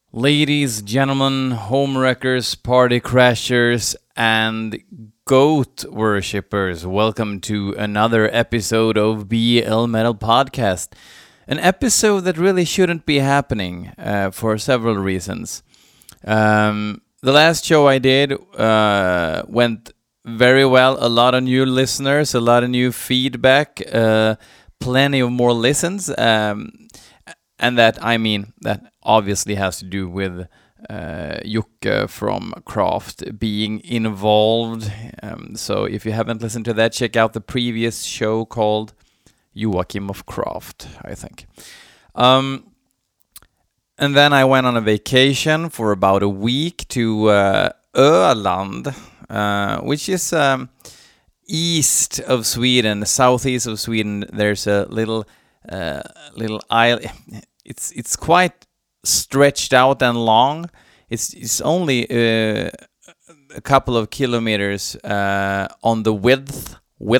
Ladies, gentlemen, homewreckers, party crashers, and goat worshippers, welcome to another episode of BL Metal Podcast. An episode that really shouldn't be happening for several reasons. The last show I did went very well. A lot of new listeners, a lot of new feedback, plenty of more listens. And that obviously has to do with Jocke from Craft being involved. So if you haven't listened to that, check out the previous show called Joachim of Craft, I think. And then I went on a vacation for about a week to Öland, which is east of Sweden, southeast of Sweden. There's a little island. It's quite stretched out and long. It's only a couple of kilometers on the width.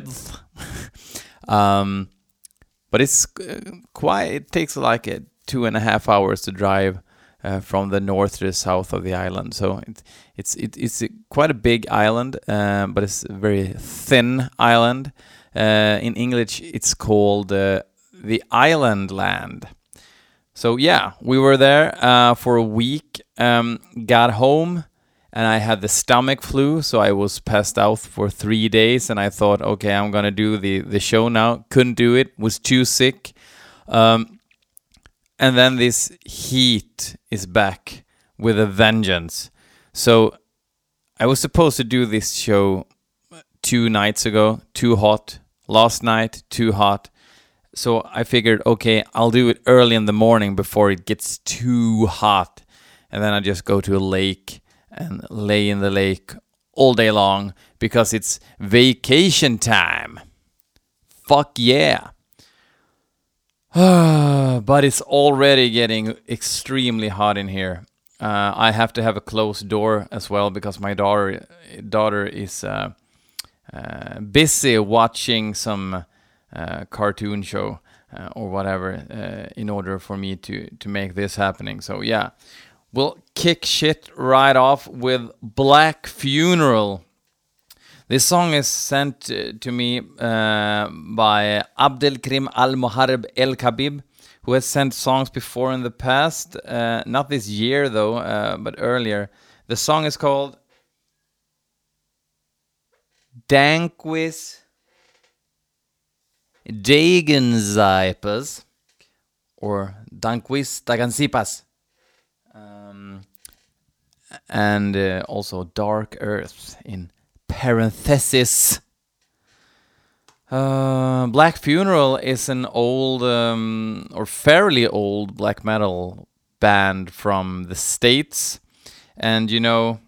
But it's quite. It takes like 2.5 hours to drive from the north to the south of the island. So it's quite a big island, but it's a very thin island. In English, it's called the Island Land. So yeah, we were there for a week, got home, and I had the stomach flu, so I was passed out for 3 days, and I thought, okay, I'm gonna do the show now. Couldn't do it, was too sick. And then this heat is back with a vengeance. So I was supposed to do this show 2 nights ago, too hot. Last night, too hot. So I figured, okay, I'll do it early in the morning before it gets too hot. And then I just go to a lake and lay in the lake all day long because it's vacation time. Fuck yeah. But it's already getting extremely hot in here. I have to have a closed door as well because my daughter is busy watching some cartoon show or whatever in order for me to make this happening. So yeah, we'll kick shit right off with Black Funeral. This song is sent to me by Abdelkrim Al-Mohareb El-Khabib, who has sent songs before in the past, not this year though, but earlier. The song is called Danquis Dagenzipas or Danquis Dagenzipas, and also Dark Earth in parenthesis. Black Funeral is an old or fairly old black metal band from the States, and you know,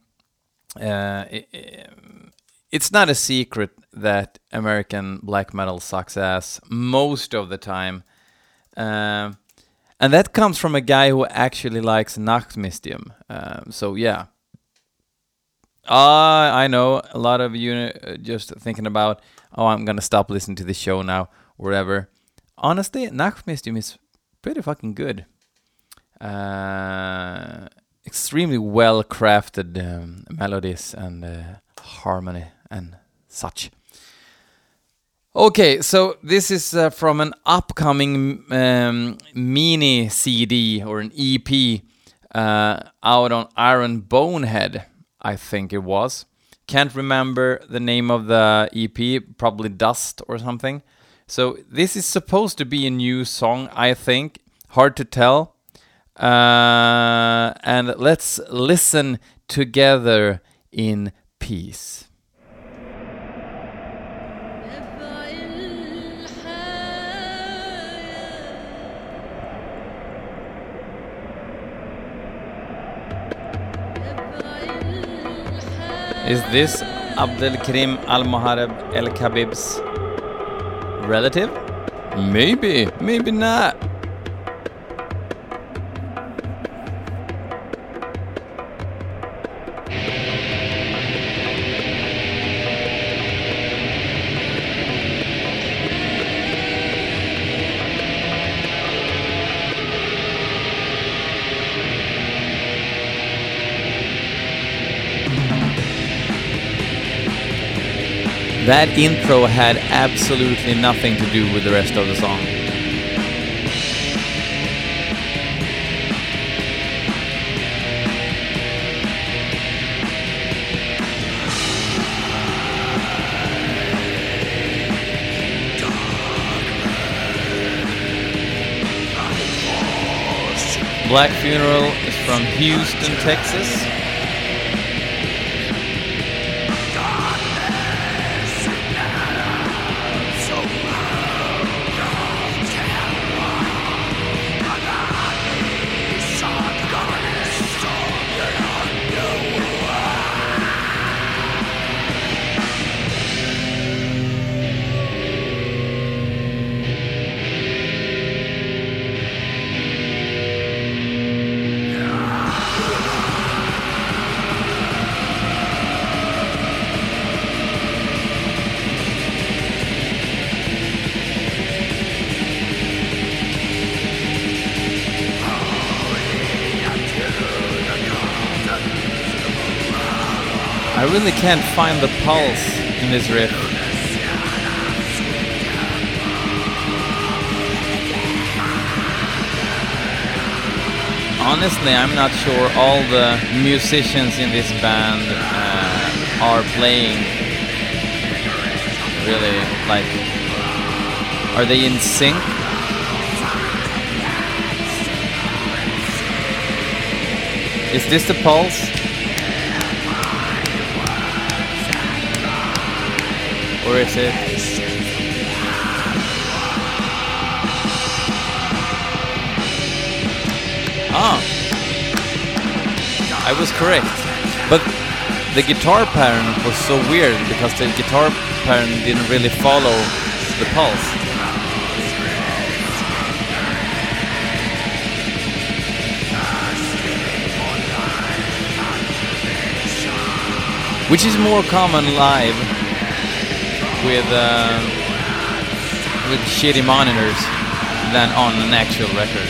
it's not a secret that American black metal sucks ass most of the time. And that comes from a guy who actually likes Nachtmystium. So yeah. I know a lot of you just thinking about, oh, I'm gonna stop listening to the show now, whatever. Honestly, Nachtmystium is pretty fucking good. Extremely well crafted melodies and harmony and such. Okay, so this is from an upcoming mini CD or an EP out on Iron Bonehead, I think it was. Can't remember the name of the EP, probably Dust or something. So this is supposed to be a new song, I think. Hard to tell. And let's listen together in peace. Is this Abdelkrim Al-Mohareb El-Khabib's relative? Maybe, maybe not. That intro had absolutely nothing to do with the rest of the song. Black Funeral is from Houston, Texas. I really can't find the pulse in this riff. Honestly, I'm not sure all the musicians in this band are playing. Really, like, are they in sync? Is this the pulse? Or is it? Ah, I was correct. But the guitar pattern was so weird because the guitar pattern didn't really follow the pulse. Which is more common live with shitty monitors than on an actual record.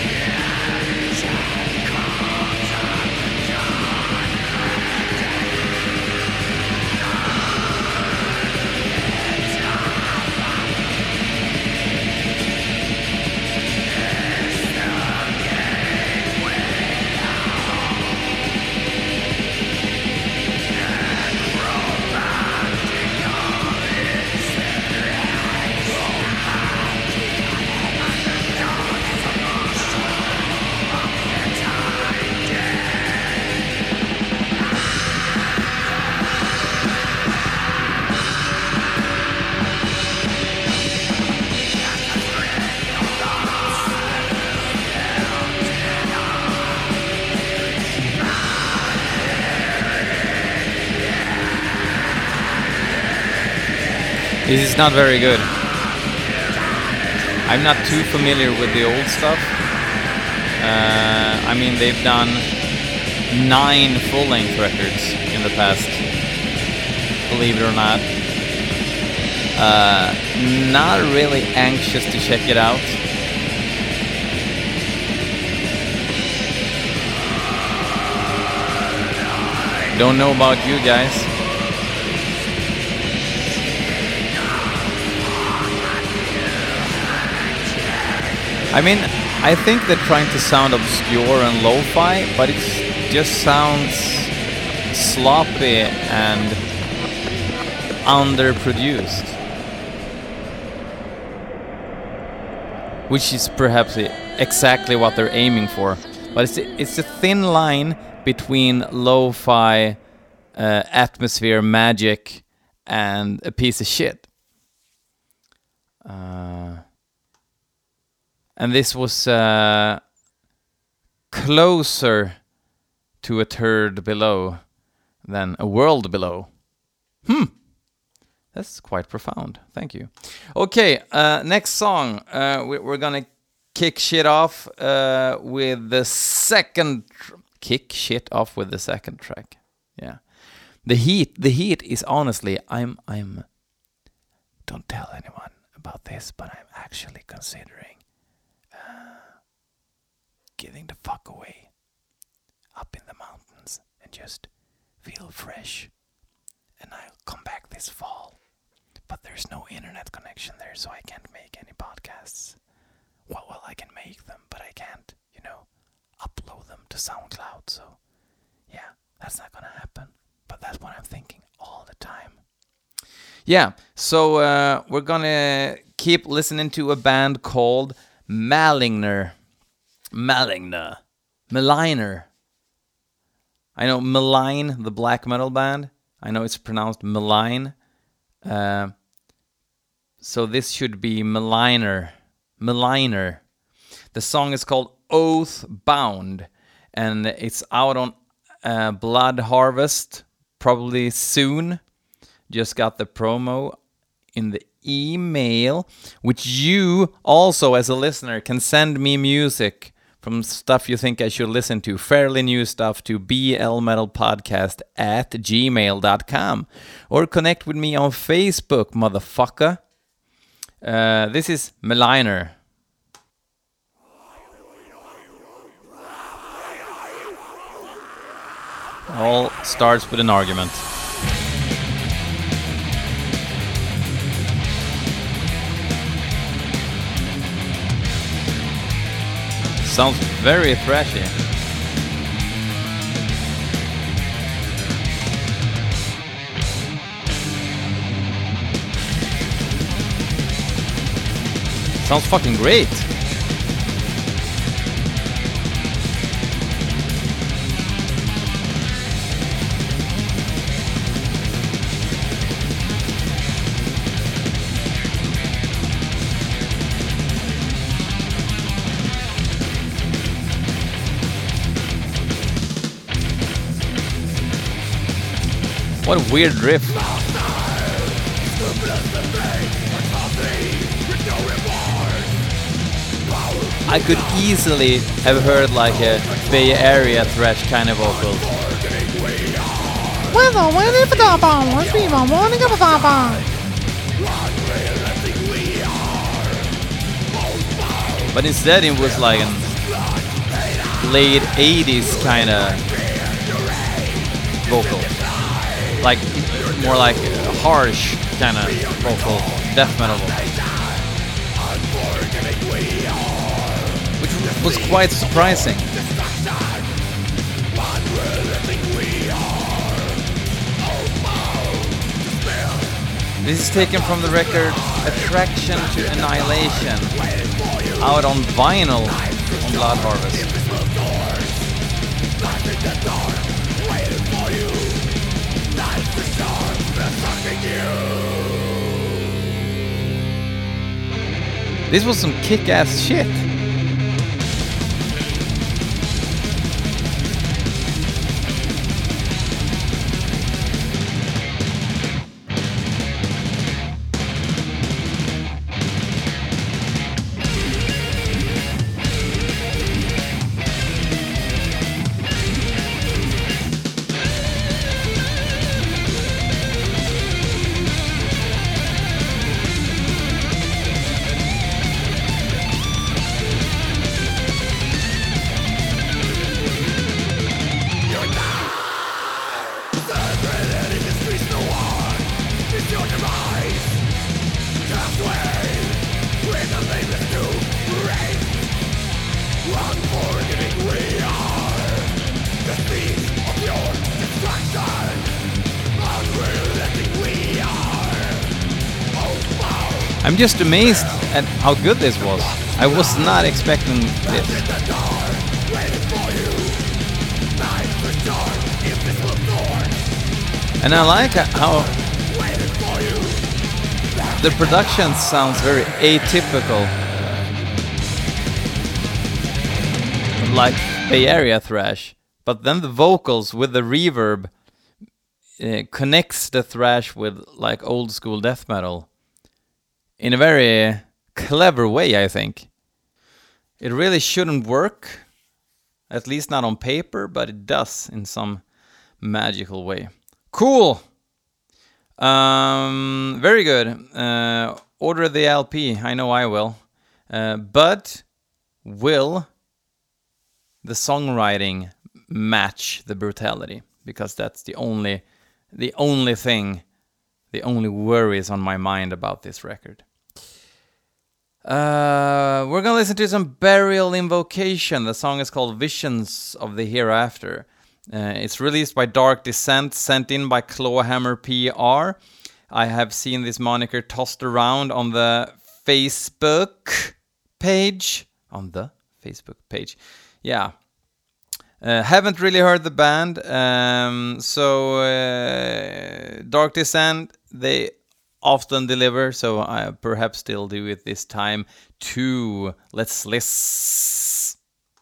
This is not very good. I'm not too familiar with the old stuff. I mean, they've done 9 full-length records in the past, believe it or not. Not really anxious to check it out. Don't know about you guys. I mean, I think they're trying to sound obscure and lo-fi, but it just sounds sloppy and underproduced. Which is perhaps exactly what they're aiming for. But it's a thin line between lo-fi, atmosphere, magic, and a piece of shit. And this was closer to a third below than a world below. That's quite profound. Thank you. Okay, next song. We're gonna kick shit off with the second... Kick shit off with the second track. Yeah. The heat is honestly... I'm... Don't tell anyone about this, but I'm actually considering getting the fuck away up in the mountains and just feel fresh. And I'll come back this fall. but there's no internet connection there, so I can't make any podcasts. Well, I can make them, but I can't, upload them to SoundCloud. So, yeah, that's not gonna happen. But that's what I'm thinking all the time. Yeah, so we're gonna keep listening to a band called Maligner. I know Malign, the black metal band. I know it's pronounced Malign. So this should be Maligner. The song is called Oath Bound, and it's out on Blood Harvest probably soon. Just got the promo in the email, which you also as a listener can send me music from stuff you think I should listen to, fairly new stuff, to blmetalpodcast@gmail.com, or connect with me on Facebook, motherfucker. This is Maligner. All starts with an argument. Sounds very thrashy. Sounds fucking great. What a weird riff. I could easily have heard like a Bay Area thrash kind of vocal. But instead it was like a late 80s kind of vocal. Like more like a harsh kind of vocal, death metal vocal. Which was quite surprising. This is taken from the record Attraction to Annihilation, out on vinyl on Blood Harvest. This was some kick-ass shit. I'm just amazed at how good this was. I was not expecting this. And I like how the production sounds very atypical, like Bay Area thrash, but then the vocals with the reverb connects the thrash with like old school death metal in a very clever way, I think. It really shouldn't work, at least not on paper, but it does in some magical way. Cool! Very good. Order the LP, I know I will. But will the songwriting match the brutality? Because that's the only thing the only worries on my mind about this record. We're gonna listen to some Burial Invocation. The song is called Visions of the Hereafter. It's released by Dark Descent, sent in by Clawhammer PR. I have seen this moniker tossed around on the Facebook page. Yeah. Haven't really heard the band. Dark Descent, they often deliver, so I perhaps still do it this time too. Let's listen.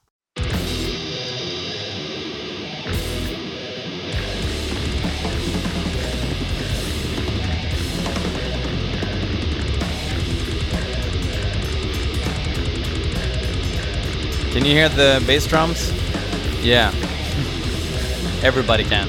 Can you hear the bass drums? Yeah. Everybody can.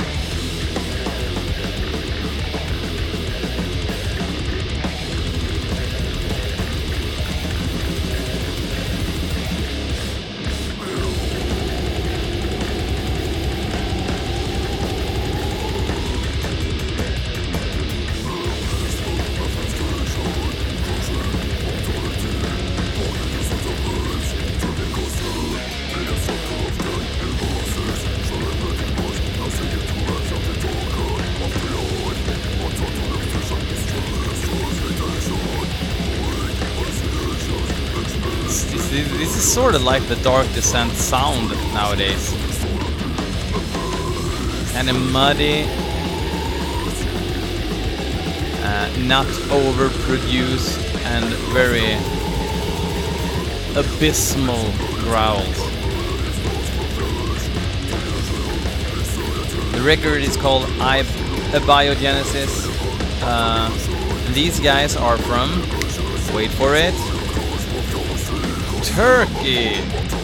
This is sort of like the Dark Descent sound nowadays. Kind of muddy, not overproduced, and very abysmal growls. The record is called Abiogenesis. These guys are from, wait for it, Turkey.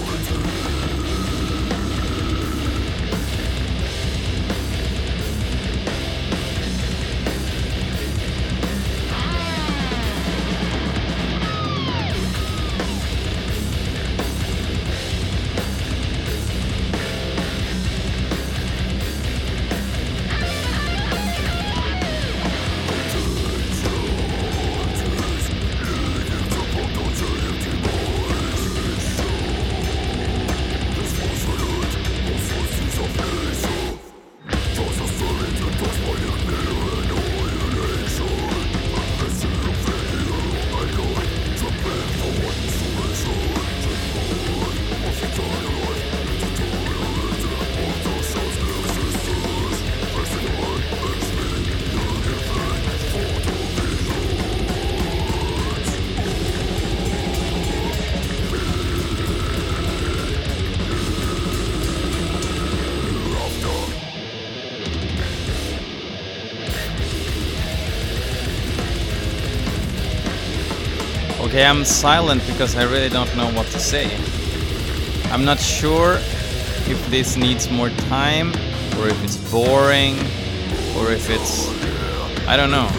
Okay, I'm silent because I really don't know what to say. I'm not sure if this needs more time, or if it's boring, or if it's... I don't know.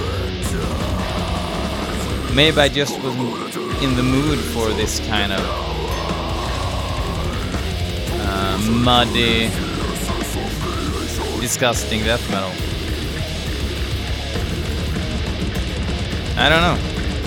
Maybe I just wasn't in the mood for this kind of muddy, disgusting death metal. I don't know.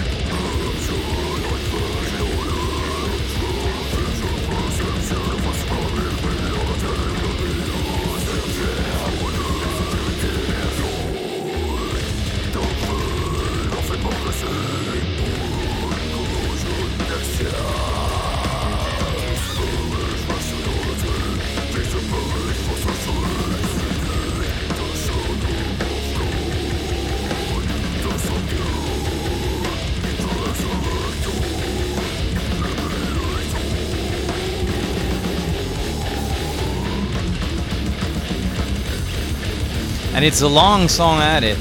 And it's a long song at it.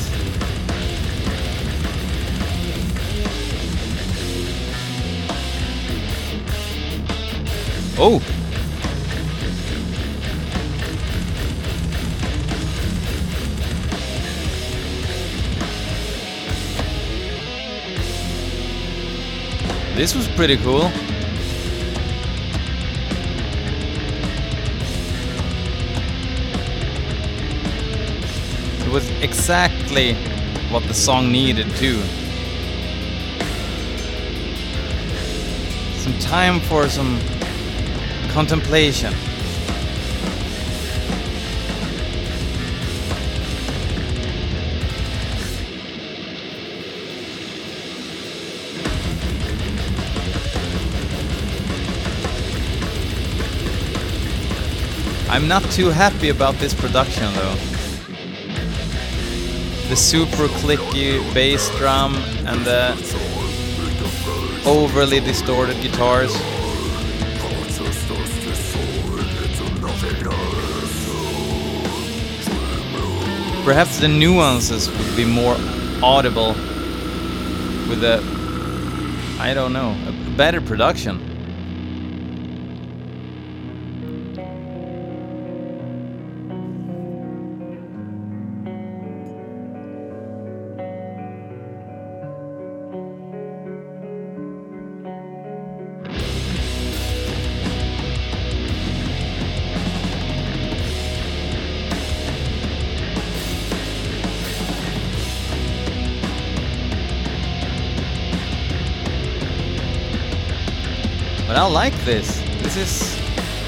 Oh! This was pretty cool. It was exactly what the song needed too. Some time for some contemplation. I'm not too happy about this production though. The super clicky bass drum and the overly distorted guitars. Perhaps the nuances would be more audible with a, I don't know, a better production. But I like this. This is...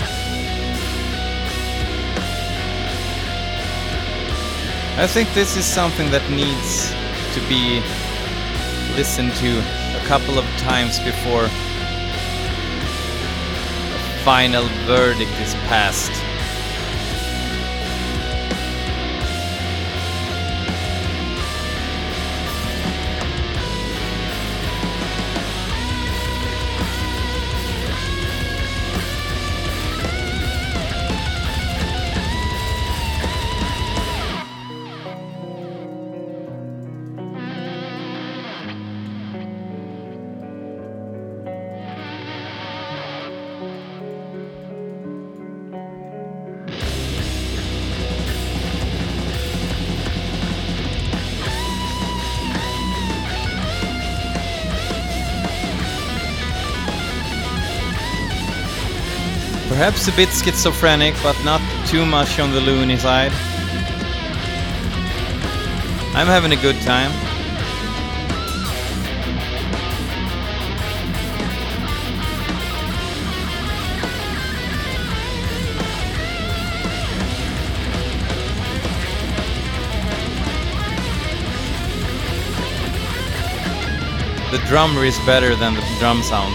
I think this is something that needs to be listened to a couple of times before a final verdict is passed. Perhaps a bit schizophrenic, but not too much on the loony side. I'm having a good time. The drummer is better than the drum sound.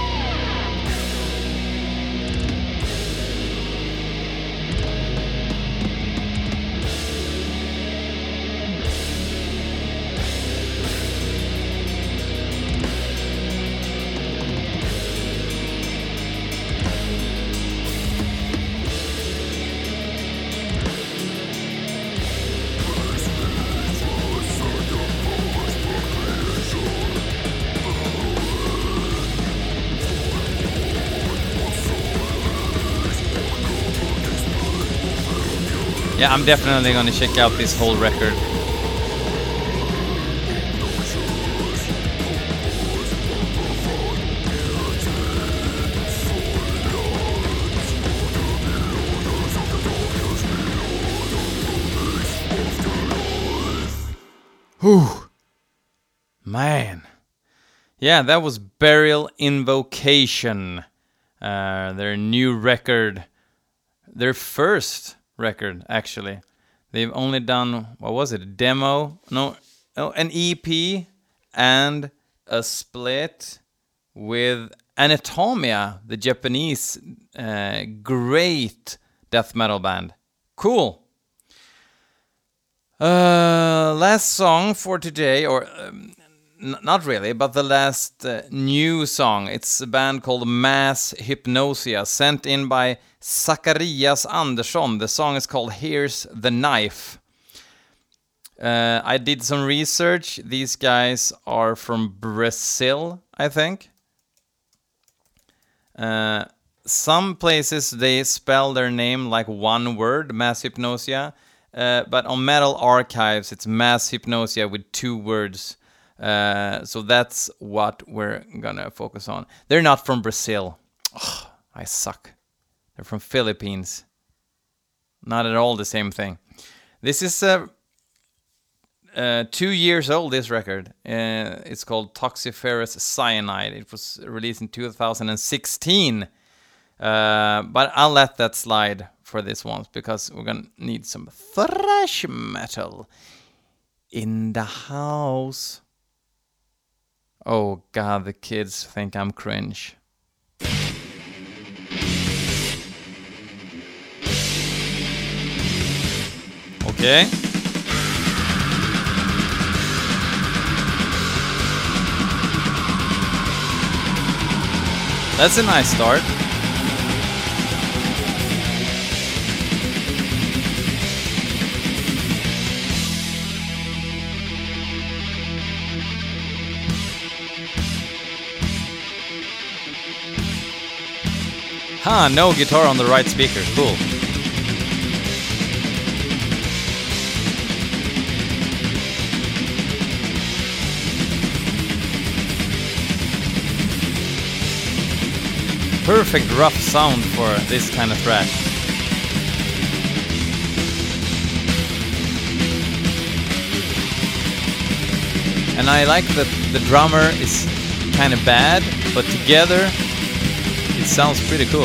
Yeah, I'm definitely gonna check out this whole record. Whew. Man. Yeah, that was Burial Invocation. Their new record. Their first record, actually. They've only done, what was it, a demo? No, an EP and a split with Anatomia, the Japanese great death metal band. Cool. Last song for today, or not really, but the last new song. It's a band called Mass Hypnosia, sent in by Zacharias Andersson. The song is called Here's the Knife. I did some research. These guys are from Brazil, I think. Some places they spell their name like one word, Mass Hypnosia. But on Metal Archives, it's Mass Hypnosia with two words. So that's what we're gonna focus on. They're not from Brazil. Oh, I suck. They're from Philippines. Not at all the same thing. This is 2 years old, this record. It's called Toxiferous Cyanide. It was released in 2016. But I'll let that slide for this one because we're gonna need some thrash metal in the house. Oh god, the kids think I'm cringe. Okay. That's a nice start. No guitar on the right speaker. Cool. Perfect rough sound for this kind of thrash. And I like that the drummer is kind of bad, but together it sounds pretty cool.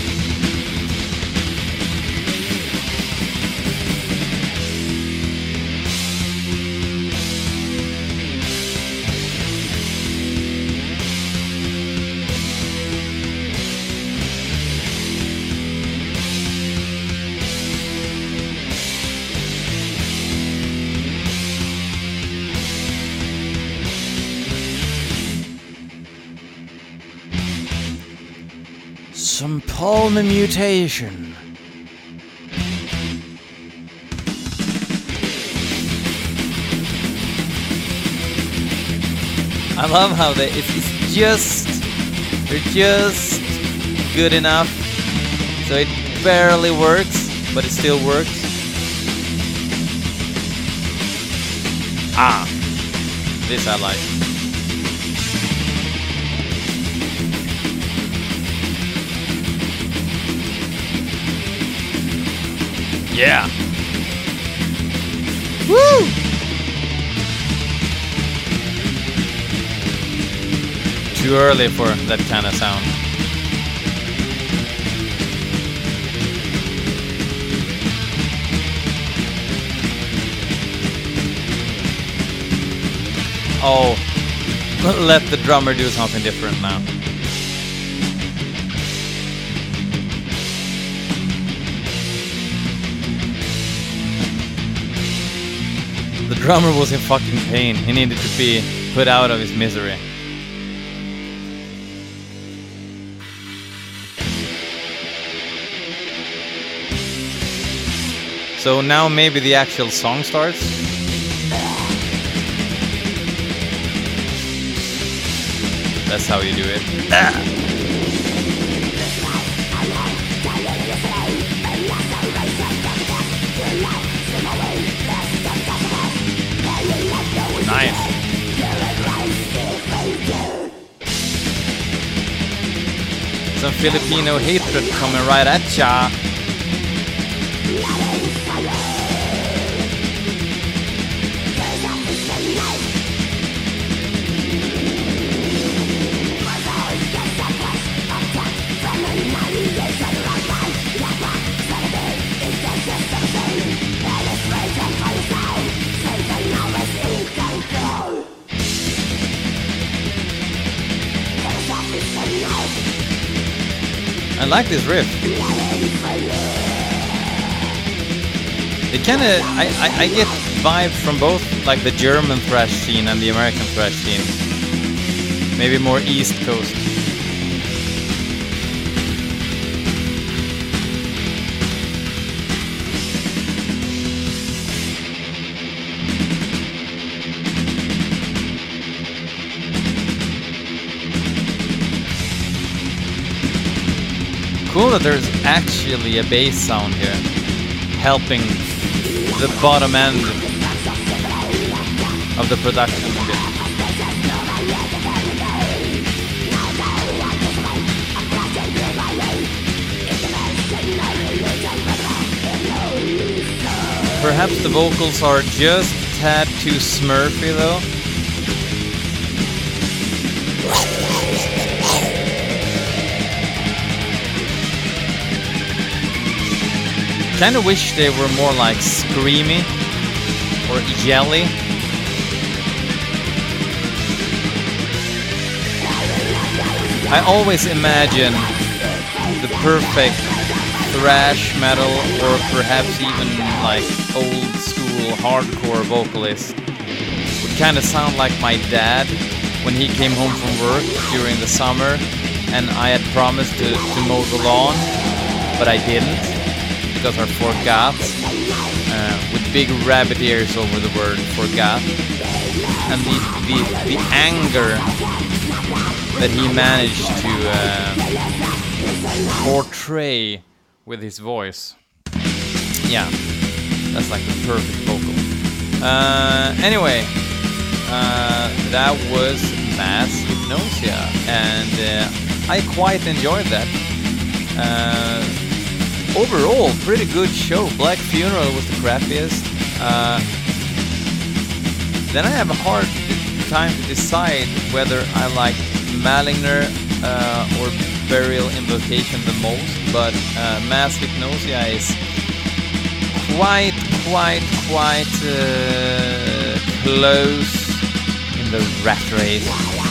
Some palm mutation. I love how they're just good enough so it barely works, but it still works. This I like. Yeah. Woo! Too early for that kind of sound. Oh, let the drummer do something different now. The drummer was in fucking pain. He needed to be put out of his misery. So now maybe the actual song starts. That's how you do it. Nice. Some Filipino hatred coming right at ya. I like this riff. It kind of, I get vibes from both, like the German thrash scene and the American thrash scene. Maybe more East Coast. Cool that there's actually a bass sound here, helping the bottom end of the production a bit. Perhaps the vocals are just tad too Smurfy though. Kind of wish they were more like screamy or yelly. I always imagine the perfect thrash metal or perhaps even like old school hardcore vocalist would kind of sound like my dad when he came home from work during the summer and I had promised to mow the lawn, but I didn't because I forgot, with big rabbit ears over the word forgot, and the anger that he managed to portray with his voice. Yeah, that's like the perfect vocal. Anyway, that was Mass Hypnosia, and I quite enjoyed that. Overall, pretty good show. Black Funeral was the crappiest. Then I have a hard time to decide whether I like Maligner or Burial Invocation the most, but Mass Hypnosia is quite close in the rat race.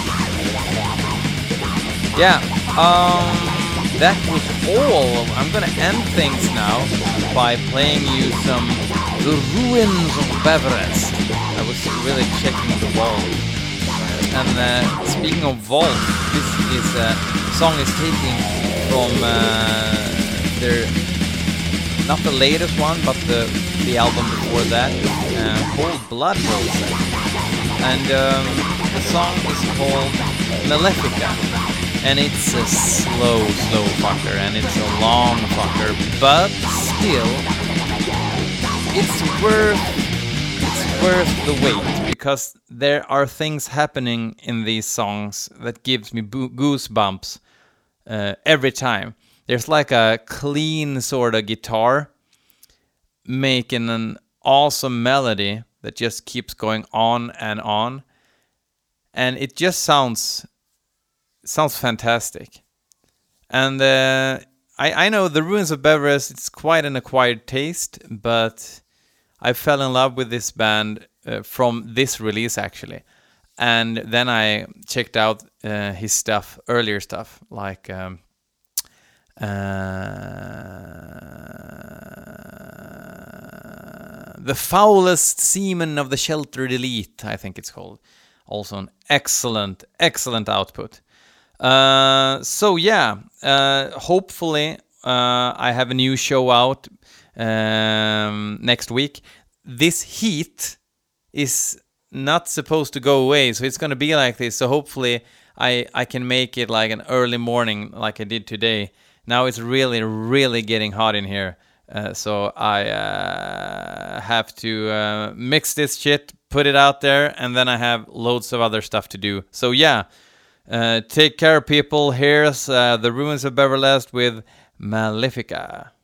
Yeah, that was all. I'm gonna end things now by playing you some The Ruins of Beverest. I was really checking the vault. And speaking of vault, this song is taken from their, not the latest one, but the album before that, called Blood Roses. And the song is called Malefica. And it's a slow fucker, and it's a long fucker, but still, it's worth the wait, because there are things happening in these songs that gives me goosebumps every time. There's like a clean sort of guitar making an awesome melody that just keeps going on, and it just sounds fantastic. And I know The Ruins of Beverest, it's quite an acquired taste, but I fell in love with this band from this release actually. And then I checked out his stuff, earlier stuff, like The Foulest Seaman of the Sheltered Elite, I think it's called. Also an excellent output. So yeah, hopefully I have a new show out next week. This heat is not supposed to go away, so it's going to be like this. So hopefully I can make it like an early morning like I did today. Now it's really getting hot in here, so I have to mix this shit, put it out there, and then I have loads of other stuff to do. So yeah, take care, people. Here's The Ruins of Beverest with Malefica.